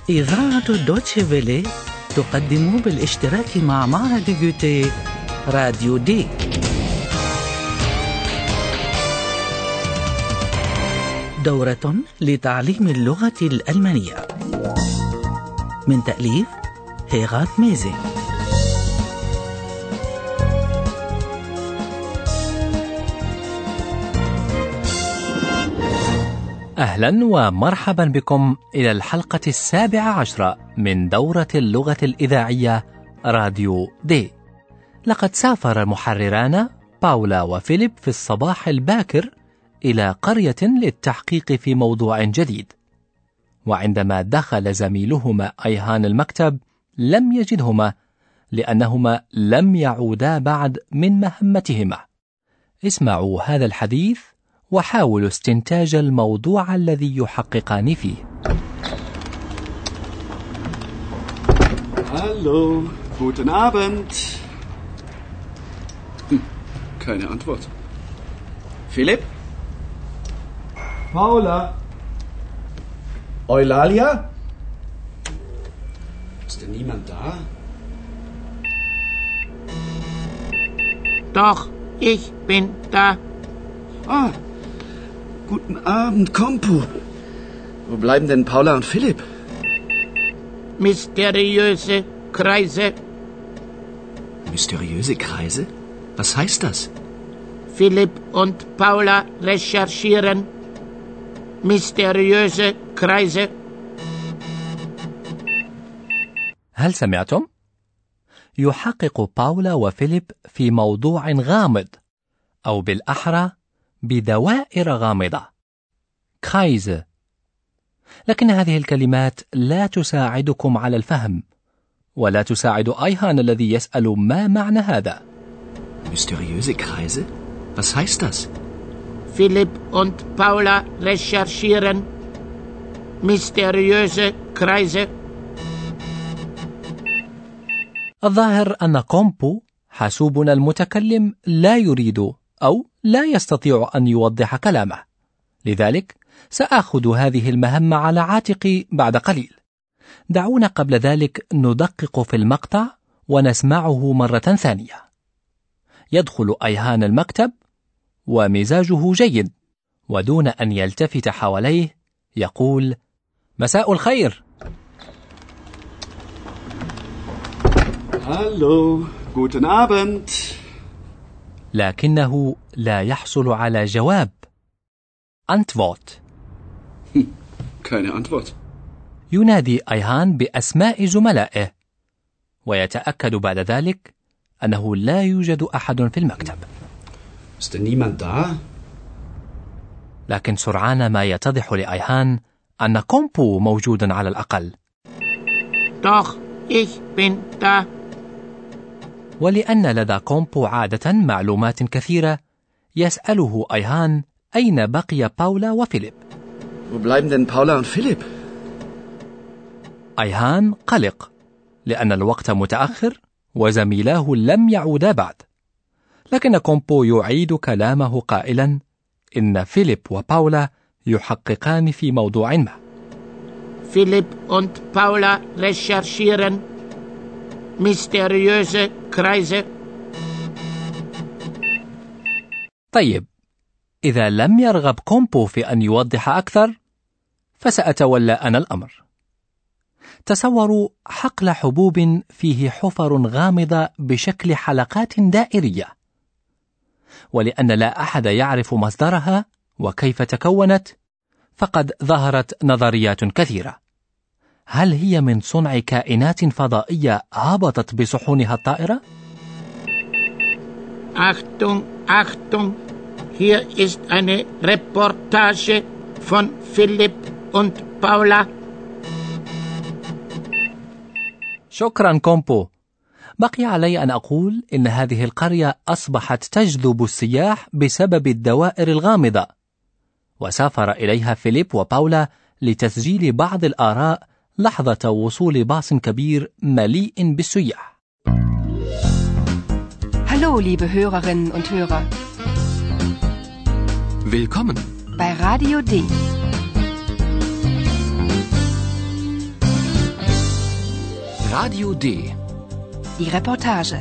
إذاعة دوتشي فيلي تقدم بالاشتراك مع معهد جوتيه راديو دي. دورة لتعليم اللغة الألمانية من تأليف هيغات ميزي. أهلا ومرحبا بكم إلى الحلقة 17 من دورة اللغة الإذاعية راديو دي. لقد سافر المحرران باولا وفيليب في الصباح الباكر إلى قرية للتحقيق في موضوع جديد، وعندما دخل زميلهما أيهان المكتب لم يجدهما لأنهما لم يعودا بعد من مهمتهما. اسمعوا هذا الحديث وحاولوا استنتاج الموضوع الذي يحققان فيه. Hallo, guten Abend. Keine Antwort. Philipp? Paula? Eulalia? Ist denn niemand da? Doch, ich bin da. Ah, guten Abend, Kompo. Wo bleiben denn Paula und Philipp? Mysteriöse Kreise. Mysteriöse Kreise? Was heißt das? Philipp und Paula recherchieren. Mysteriöse Kreise. هل سمعتم؟ يحقق باولا وفيليب في موضوع غامض، أو بالأحرى بدوائر غامضة، كرايزه. لكن هذه الكلمات لا تساعدكم على الفهم، ولا تساعد أيهان الذي يسأل ما معنى هذا. Mysteriöse Kreise? Was heißt das? Philipp und Paula recherchieren. Mysteriöse Kreise. الظاهر أن كومبو حاسوبنا المتكلم لا يريد أو لا يستطيع أن يوضح كلامه، لذلك سأخذ هذه المهمة على عاتقي بعد قليل. دعونا قبل ذلك ندقق في المقطع ونسمعه مرة ثانية. يدخل أيهان المكتب ومزاجه جيد، ودون أن يلتفت حواليه يقول: مساء الخير. Hallo, guten Abend. لكنه لا يحصل على جواب. Antwort. Keine Antwort. ينادي أيهان بأسماء زملائه، ويتأكد بعد ذلك أنه لا يوجد أحد في المكتب. Ist denn niemand da? لكن سرعان ما يتضح لأيهان أن كومبو موجود على الأقل. Doch, ich bin da. ولأن لدى كومبو عادة معلومات كثيرة، يسأله أيهان أين بقي باولا وفيليب. Wo bleiben denn Paula und Philipp? أيهان قلق لأن الوقت متأخر وزميلاه لم يعودا بعد، لكن كومبو يعيد كلامه قائلا إن فيليب وباولا يحققان في موضوع ما. Philipp und Paula recherchieren. Mysteriöse Kreise. طيب، إذا لم يرغب كومبو في أن يوضح أكثر فسأتولى أنا الأمر. تصوروا حقل حبوب فيه حفر غامضة بشكل حلقات دائرية، ولأن لا أحد يعرف مصدرها وكيف تكونت، فقد ظهرت نظريات كثيرة. هل هي من صنع كائنات فضائية هبطت بصحونها الطائرة؟ Achtung, Achtung. Hier ist eine Reportage von Philipp und Paula. شكرا كومبو. بقي علي أن أقول إن هذه القرية أصبحت تجذب السياح بسبب الدوائر الغامضة، وسافر إليها فيليب وباولا لتسجيل بعض الآراء لحظة وصول باص كبير مليء بالسياح. Hallo, liebe Hörerinnen und Hörer. Willkommen bei Radio D. Radio D. Die Reportage.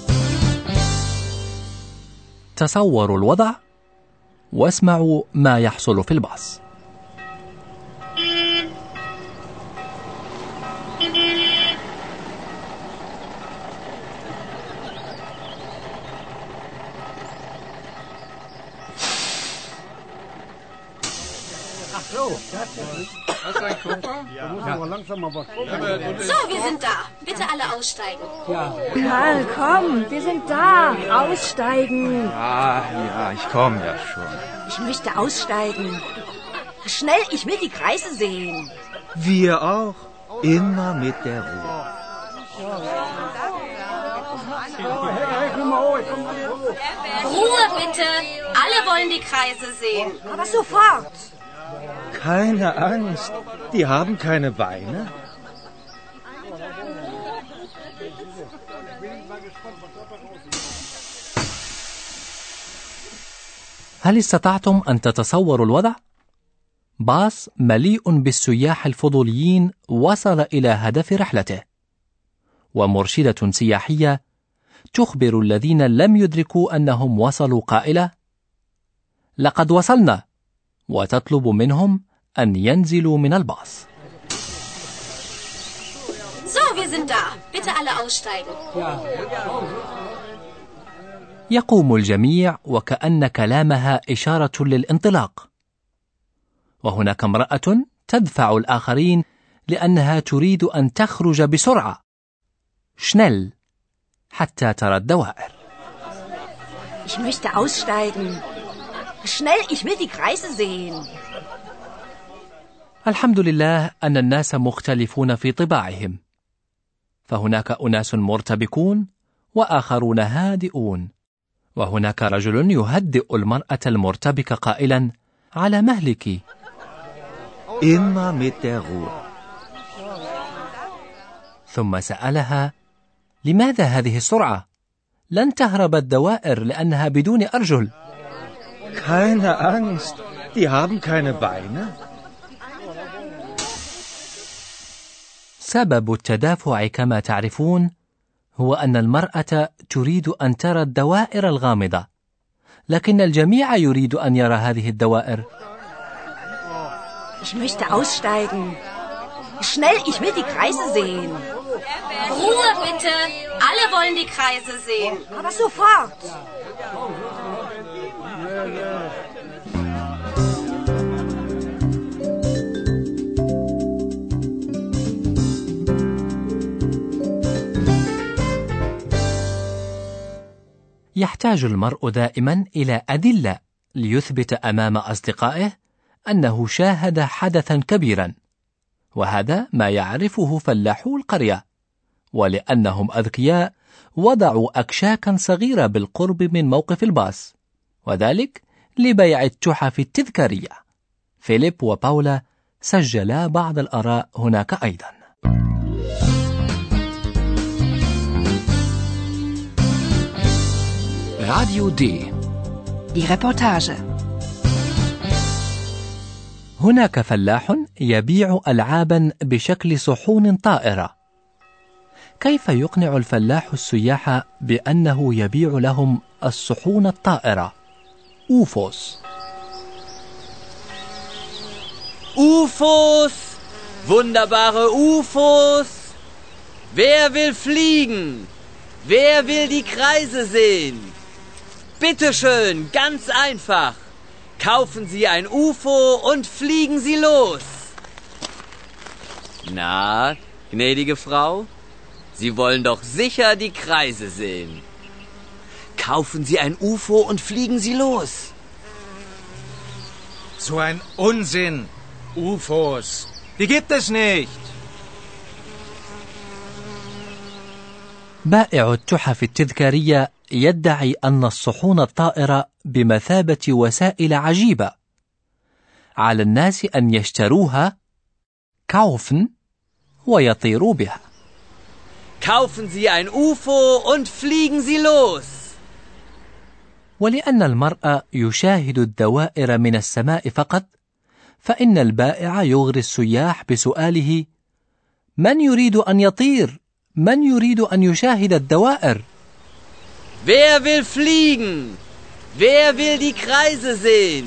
تصوروا الوضع واسمعوا ما يحصل في الباص. So, wir sind da. Bitte alle aussteigen. Karl, komm, wir sind da. Aussteigen. Ja, ich komme ja schon. Ich möchte aussteigen. Schnell, ich will die Kreise sehen. Wir auch. Immer mit der Ruhe. Ruhe bitte. Alle wollen die Kreise sehen. Aber sofort. Keine Angst. Die haben keine Beine. هل استطعتم أن تتصوروا الوضع؟ باص مليء بالسياح الفضوليين وصل إلى هدف رحلته، ومرشدة سياحية تخبر الذين لم يدركوا أنهم وصلوا قائلة: لقد وصلنا، وتطلب منهم أن ينزلوا من الباص. So, wir sind da. Bitte alle aussteigen. يقوم الجميع وكأن كلامها إشارة للانطلاق، وهناك امرأة تدفع الآخرين لأنها تريد أن تخرج بسرعة شنل حتى ترى الدوائر. Ich möchte aussteigen. Schnell, ich will die Kreise sehen. الحمد لله أن الناس مختلفون في طباعهم، فهناك أناس مرتبكون وآخرون هادئون، وهناك رجل يهدئ المرأة المرتبكة قائلا: على مهلك. Immer mit der Ruhe. ثم سألها: لماذا هذه السرعة؟ لن تهرب الدوائر لأنها بدون أرجل. Keine Angst. Die haben keine Beine. سبب التدافع كما تعرفون هو أن المرأة تريد أن ترى الدوائر الغامضة، لكن الجميع يريد أن يرى هذه الدوائر. Ich möchte aussteigen. Schnell, ich will die Kreise sehen. Ruhe bitte. Alle wollen die Kreise sehen. Aber sofort. يحتاج المرء دائما إلى أدلة ليثبت أمام أصدقائه أنه شاهد حدثا كبيرا، وهذا ما يعرفه فلاحو القرية، ولأنهم أذكياء وضعوا أكشاكا صغيرة بالقرب من موقف الباص، وذلك لبيع التحف التذكارية. فيليب وباولا سجلا بعض الآراء هناك أيضا. Radio D. Die Reportage. هناك فلاح يبيع ألعابا بشكل صحون طائرة. كيف يقنع الفلاح السياح بأنه يبيع لهم الصحون الطائرة UFOs؟ UFOs! Wunderbare UFOs! Wer will fliegen? Wer will die Kreise sehen? Bitte schön, ganz einfach. Kaufen Sie ein UFO und fliegen Sie los. Na, gnädige Frau, Sie wollen doch sicher die Kreise sehen. Kaufen Sie ein UFO und fliegen Sie los. So ein Unsinn. UFOs. Die gibt es nicht. بائع التحف التذكارية يدعي أن الصحون الطائرة بمثابة وسائل عجيبة، على الناس أن يشتروها kaufen ويطيروا بها. Kaufen Sie ein UFO und fliegen Sie los. ولأن المرء يشاهد الدوائر من السماء فقط، فإن البائع يغري السياح بسؤاله: من يريد أن يطير؟ من يريد أن يشاهد الدوائر؟ Wer will fliegen? Wer will die Kreise sehen?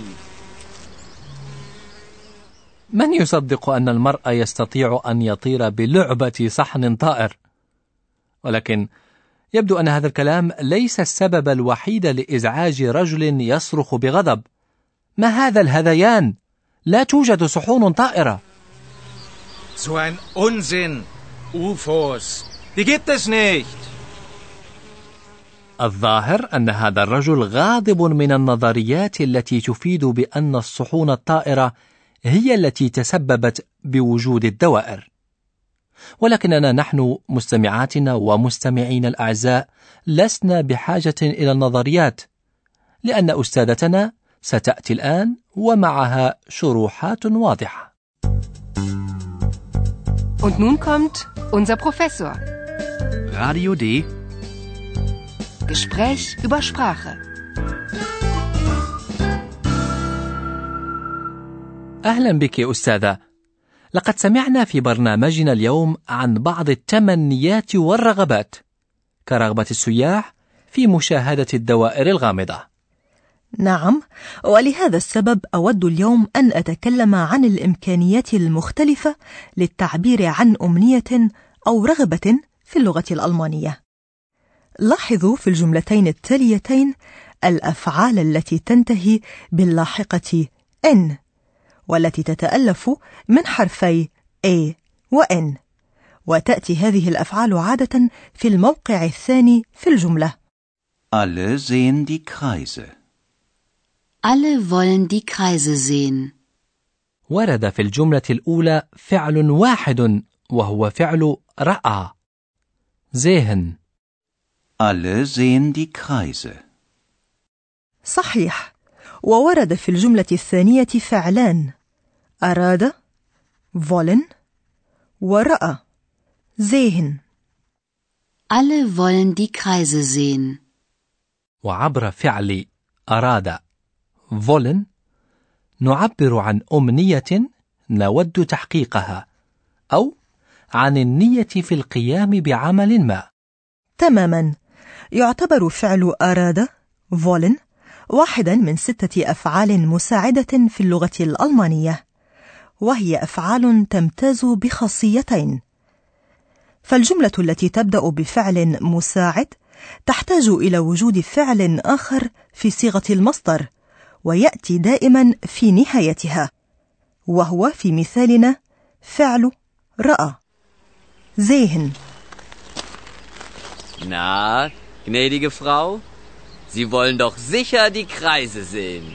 من يصدق أن المرء يستطيع أن يطير بلعبة صحن طائر؟ ولكن يبدو أن هذا الكلام ليس السبب الوحيد لإزعاج رجل يصرخ بغضب. ما هذا الهذيان؟ لا توجد صحون طائرة. So ein Unsinn. UFOs. Die gibt es nicht. الظاهر أن هذا الرجل غاضب من النظريات التي تفيد بأن الصحون الطائرة هي التي تسببت بوجود الدوائر. ولكننا نحن مستمعاتنا ومستمعين الأعزاء لسنا بحاجة إلى النظريات، لأن أستاذتنا ستأتي الآن ومعها شروحات واضحة. Und nun kommt unser Professor. Radio D. Gespräch über Sprache. أهلا بك أستاذة. لقد سمعنا في برنامجنا اليوم عن بعض التمنيات والرغبات، كرغبة السياح في مشاهدة الدوائر الغامضة. نعم، ولهذا السبب أود اليوم أن أتكلم عن الإمكانيات المختلفة للتعبير عن أمنية أو رغبة في اللغة الألمانية. لاحظوا في الجملتين التاليتين الأفعال التي تنتهي باللاحقة N، والتي تتألف من حرفي A و N، وتأتي هذه الأفعال عادة في الموقع الثاني في الجملة. Alle sehen die Kreise. Alle wollen die Kreise sehen. ورد في الجملة الأولى فعل واحد وهو فعل رأى. sehen. Alle sehen die Kreise. صحيح. وورد في الجملة الثانية فعلان، أراد wollen ورأى sehen. Alle wollen die Kreise sehen. وعبر فعل أراد wollen نعبر عن أمنية نود تحقيقها أو عن النية في القيام بعمل ما. تماما. يعتبر فعل أراد wollen واحدا من 6 أفعال مساعدة في اللغة الألمانية، وهي أفعال تمتاز بخاصيتين. فالجملة التي تبدأ بفعل مساعد تحتاج إلى وجود فعل آخر في صيغة المصدر، ويأتي دائما في نهايتها، وهو في مثالنا فعل رأى sehen. Na, gnädige Frau, Sie wollen doch sicher die Kreise sehen.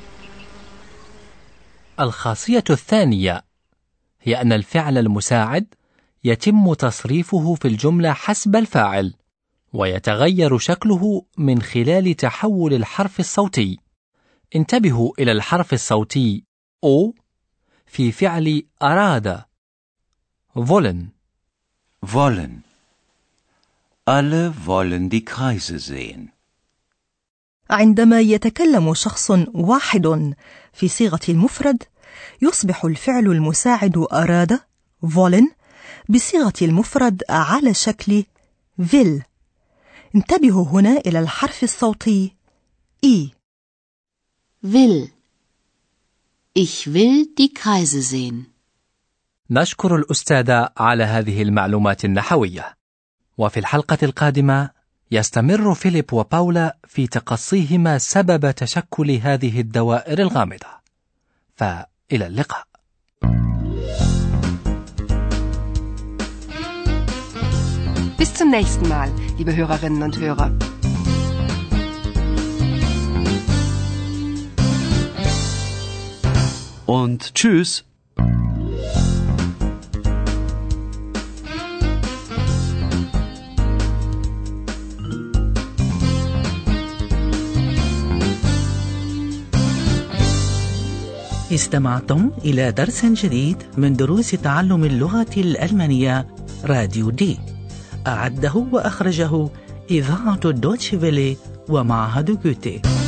الخاصية الثانية هي أن الفعل المساعد يتم تصريفه في الجملة حسب الفاعل، ويتغير شكله من خلال تحول الحرف الصوتي. انتبهوا إلى الحرف الصوتي O في فعل أراد wollen. Wollen. Alle wollen die Kreise sehen. عندما يتكلم شخص واحد في صيغة المفرد، يصبح الفعل المساعد أراد wollen بصيغة المفرد على شكل will. انتبهوا هنا إلى الحرف الصوتي I. Will. Ich will die Kreise sehen. نشكر الأستاذة على هذه المعلومات النحوية. وفي الحلقة القادمة يستمر فيليب وباولا في تقصيهما سبب تشكل هذه الدوائر الغامضة. فإلى اللقاء. Bis zum nächsten Mal, liebe Hörerinnen und Hörer. Und tschüss. استمعتم إلى درس جديد من دروس تعلم اللغة الألمانية راديو دي. أعده وأخرجه إذاعة دوتشي فيلي ومعهد جوتي.